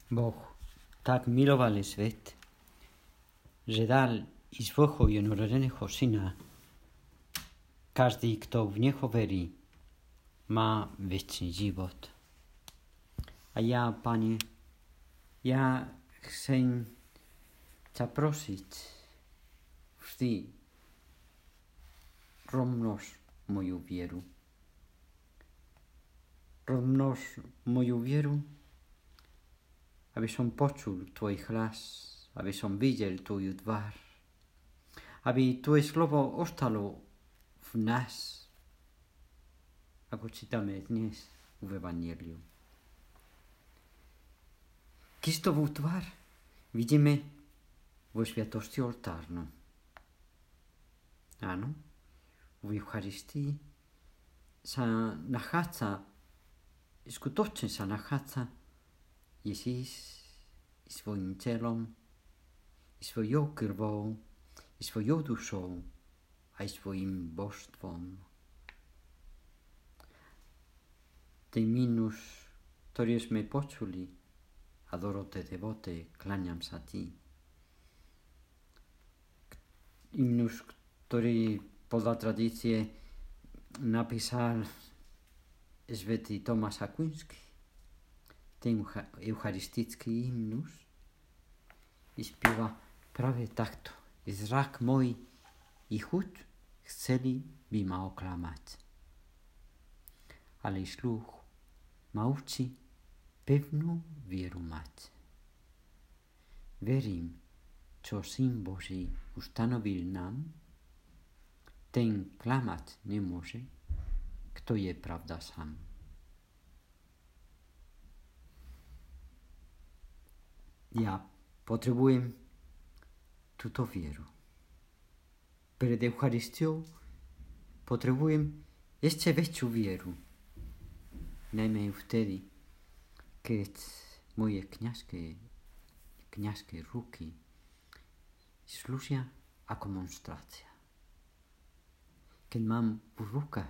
Boh tak miloval svet, že dal i svojho jednorodeného syna. Každý, kto v neho verí, má večný život. A ja, Pane, ja chcem ťa prosiť vždy rozmnož moju vieru. Rozmnož moju vieru, aby som počul tvoj hlas, aby som videl tvoju tvár, aby tvoje slovo ostalo v nás, ako čítame dnes v Evangeliu. Kristovú tvár vidíme vo sviatosti oltárnu. Áno, v Eucharistii sa nachádza, skutočne sa nachádza Ježíš i svojím telom, i svojou krvou, i svojou dušou, aj svojím božstvom. Ten mínus, ktorý sme počuli, a Dorote Devote, kláňam sa ti. Hymnus, ktorý podľa tradície napísal svätý Tomáš Akvinský, ten eucharistický hymnus, spieva práve takto. Zrak môj i chuť chceli by ma oklamať. Ale sluch ma učí pevnú vieru mať. Verím, čo Syn Boží ustanovil nám, ten klamať nemôže, kto je pravda sám. Ja potrebujem túto vieru. Pred Eucharistiou potrebujem ešte väčšiu vieru. Najmä vtedy, keď moje kňazské ruky slúžia ako monštrácia. Keď mám v rukách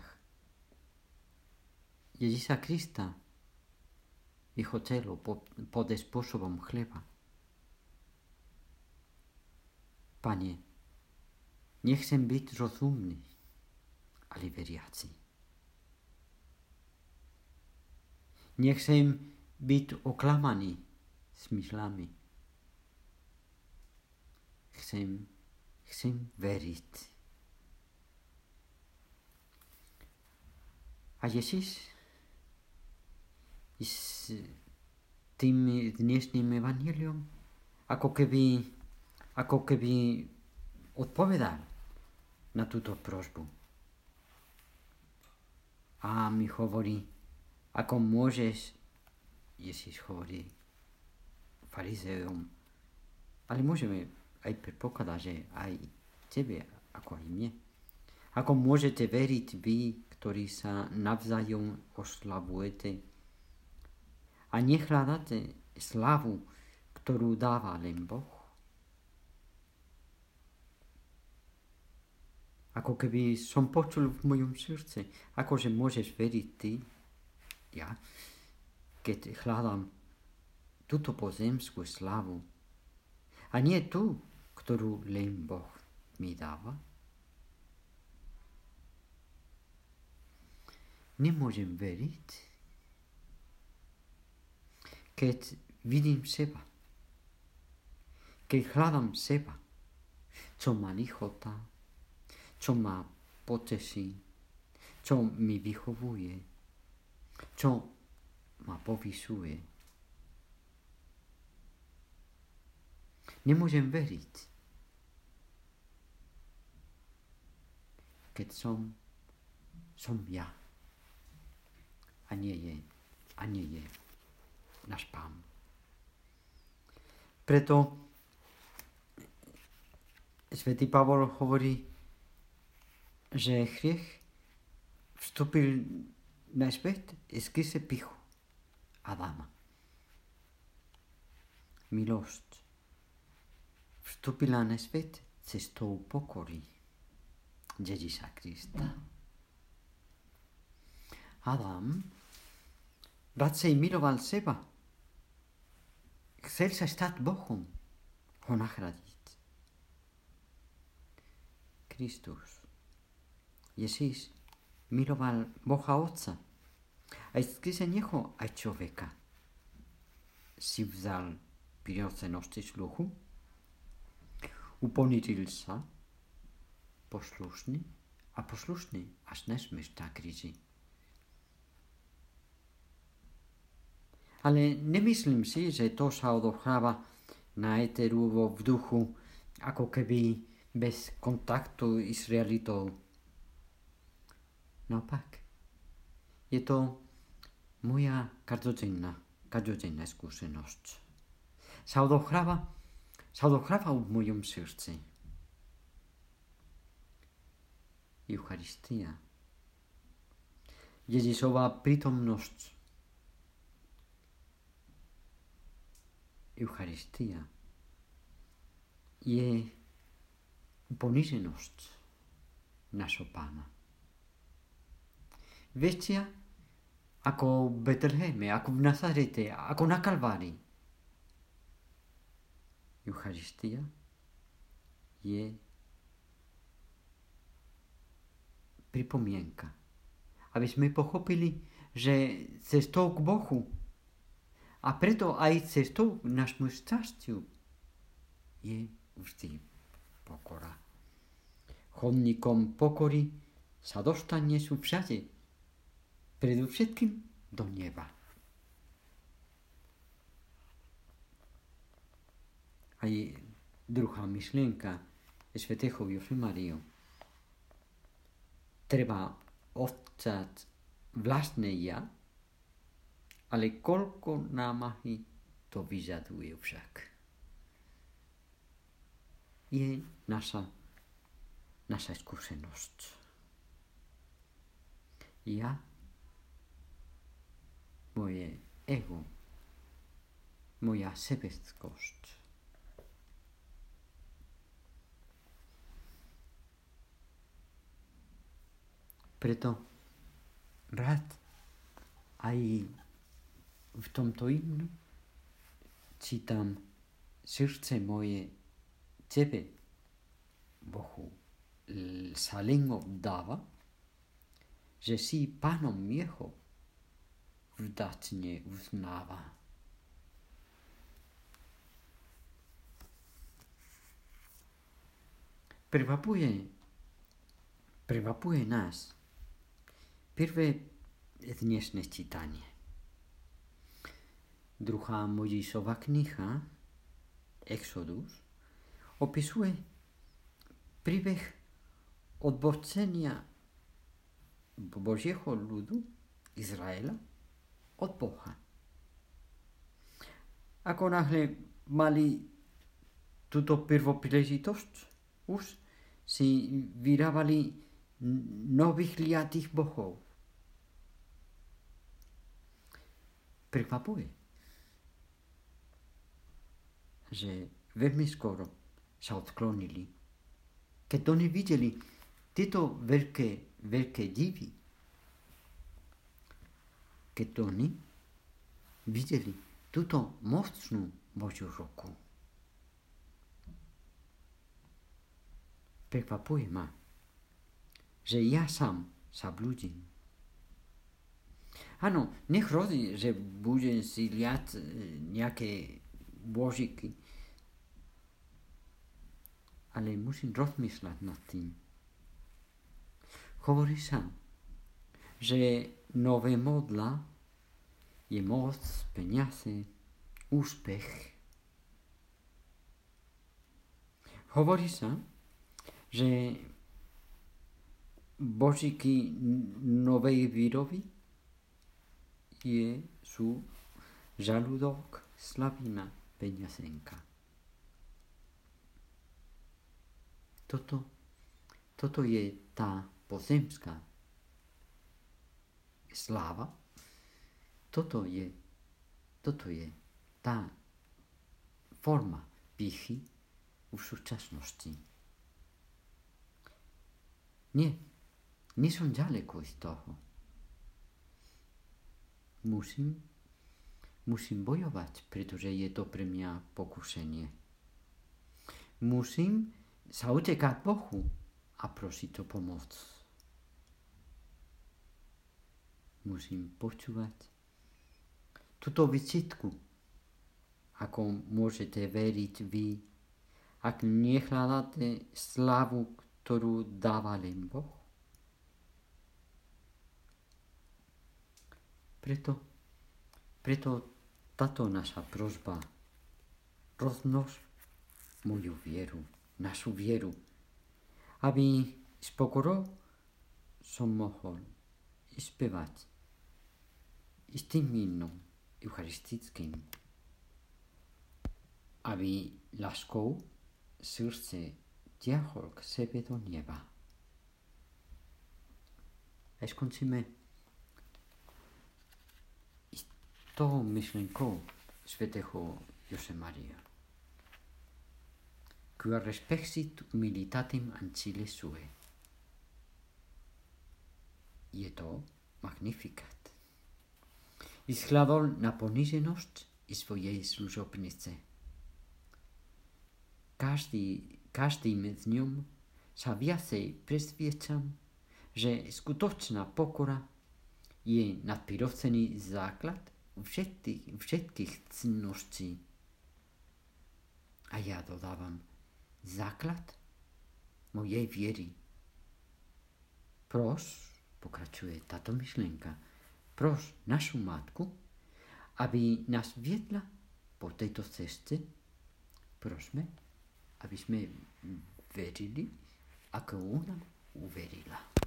Ježíša Krista, jeho telo pod spôsobom chleba. Pane, nechcem byť rozumný, ale veriaci. Nechcem byť oklamaný smyslami. Chcem veriť. A Ježíš s tým dnešným evanjeliom ako keby odpovedal na túto prosbu. A mi hovorí, ako môžeš, Ježíš hovorí farizeom, ale môžeme aj predpokladať, že aj tebe, ako aj mne. Ako môžete veriť vy, ktorí sa navzájom oslavujete a nehľadáte slavu, ktorú dáva len Boh? Ako keby som počul v mojom srdci, akože môžeš veriť ty, ja, keď hľadám túto pozemskú slavu a nie tú, ktorú len Boh mi dáva. Nemôžem veriť, keď vidím seba, keď hľadám seba, čo ma lichotá, čo ma poteší, čo mi vychovuje, čo ma povyšuje. Nemôžem veriť, keď som ja a nie je náš Pán. Preto svätý Pavol hovorí, že hriech vstúpil na svet skrze pýchu Adama. Milosť vstúpila na svet cestou pokory Ježíša Krista. Adam radšej miloval seba, chcel sa stať Bohom, ho nahradiť. Kristus, Ježíš, miloval Boha Otca. Aj skrze neho aj človeka si vzal prirodzenosti sluchu, uponížil sa, poslušný až na smrť na kríži. Ale nemyslím si, že to sa odohráva na éteru vo vzduchu, ako keby bez kontaktu s realitou. Naopak, je to moja každodenná skúsenosť. Sa odohráva v mojom srdci. Eucharistia. Ježišova prítomnosť. Eucharistia je poníženosť našho Pána. Väčšia ako v Betleheme, ako v Nazarete, ako na Kalvárii. Eucharistia je pripomienka, aby sme pochopili, že cestou k Bohu a preto aj cestou k našmu šťastiu je vždy pokora. Chodníkom pokory sa dostane sú všade, predovšetkým do neba. Aj druhá myšlienka svätého Josemaria. Treba odcať vlastné ja, ale koľko námahy to vyžaduje však. Je naša skúsenosť. Ja, moje ego, moja sebeckosť. Preto rád aj v tomto hymnu čítam: srdce moje tebe, Bohu, sa len oddáva, že si Pánom jeho vďačne uznáva. Prekvapuje nás prvé dnešné čítanie. Druhá Mojžišova kniha, Exodus, opisuje príbeh odbočenia Božieho ľudu Izraela od Boha. Ako náhle mali túto prvopríležitosť, už si vyrábali nových liatých bohov. Prekvapuje, že veľmi skoro sa odklonili, keď oni videli tieto veľké divy. Keď oni videli túto mocnú Božiu ruku. Prekvapuje ma, že ja sám sa blúdim. Áno, nech hrozí, že budem si liať nejaké božiky, ale musím rozmýšľať nad tým. Hovorí sa, že nové modla je moc, peniaze, úspech. Hovorí sa, že božiky novej výroby sú žalúdok, slavina, peňaženka. Toto je tá pozemská sláva. Toto je tá forma pýchy v súčasnosti. Nie som ďaleko z toho. Musím musím bojovať, pretože je to pre mňa pokušenie. Musím sa utekať Bohu a prosiť o pomoc. Musím počúvať túto vyčitku, ako môžete veriť vy, ak nehľadáte slávu, ktorú dáva len Boh. Preto táto naša prosba, rozmnož moju vieru, našu vieru, aby s pokorou som mohol spievať s tým hymnom eucharistickým, aby láskou srdce ťahol k sebe do neba. A skončíme s tou myšlenkou svätého Josemaria. Quia respexit humilitatem ancile sue. Je to magnifikat. Vyshľadol na poníženosť i svojej služobnice. Každým dňom sa viacej presviečam, že skutočná pokora je nadprirodzený základ všetkých cenností. A ja dodávam, základ mojej viery. Pokračuje táto myšlienka, našu matku, aby nás viedla po tejto ceste. Prosme, aby sme verili, ako ona uverila.